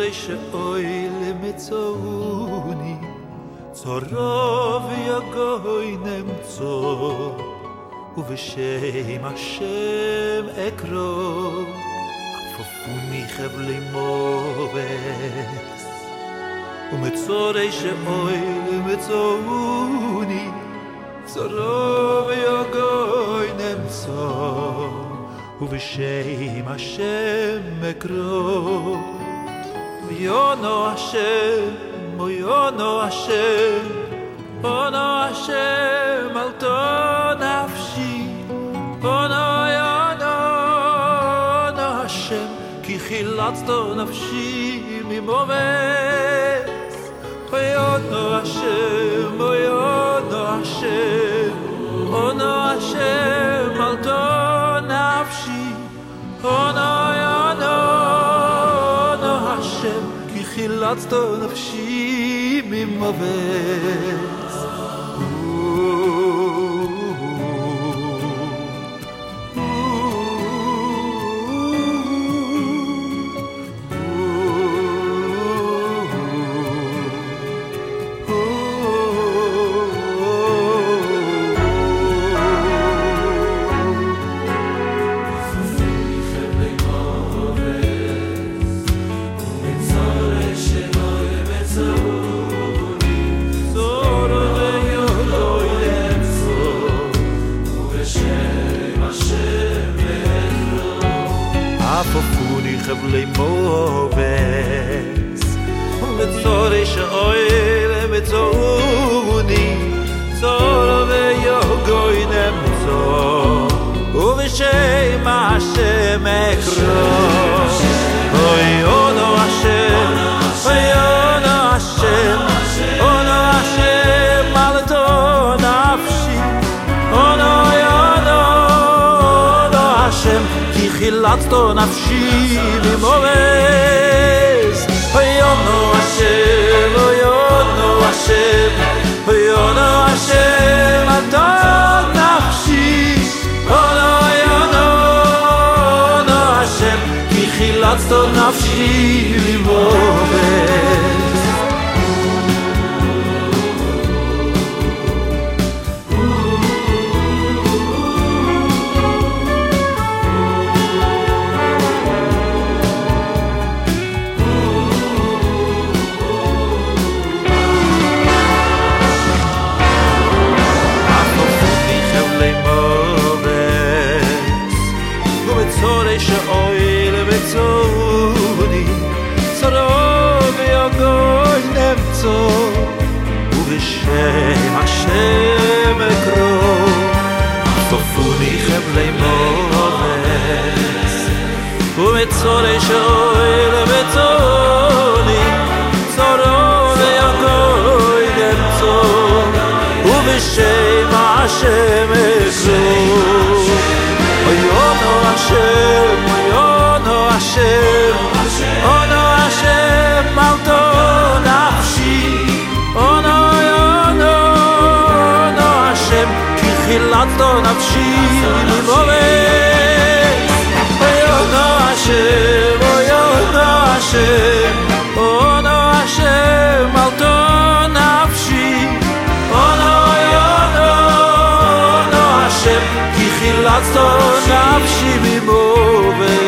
שאוי למצאוני צורוב יגוי נמצוא ובשם השם אקרוא עפופוני חבלי מובס ומצורי שאוי למצאוני צורוב יגוי נמצוא ובשם השם אקרוא ויונו השם ויונו השם אונו השם על תו נפשי אונו השם כי חילצתו נפשי ממובס ויונו השם אונו השם על תו נפשי אונו השם כי חילצתו נפשי ממובס עפופוני חבלי מובס ומצורי שאוי למצאוני צור ויוגוי נמצוא ובשם השם אקרוא ויונו השם אונו השם על תו נפשי אונו השם כי חילצתו נפשי ממובס ויונו השם על תו נפשי אונו השם כי חילצתו נפשי ממובס שאוי למצאוני צורוב ויגוי נמצוא ובשם השם אקרוא עפופוני חבלי מובס ומצורי שאוי למצאוני צורוב ויגוי נמצוא ובשם השם אקרוא ויונו השם על תו נפשי אונו השם כי חילצתו נפשי ממובס ויונו השם על תו נפשי אונו השם כי חילצתו נפשי ממובס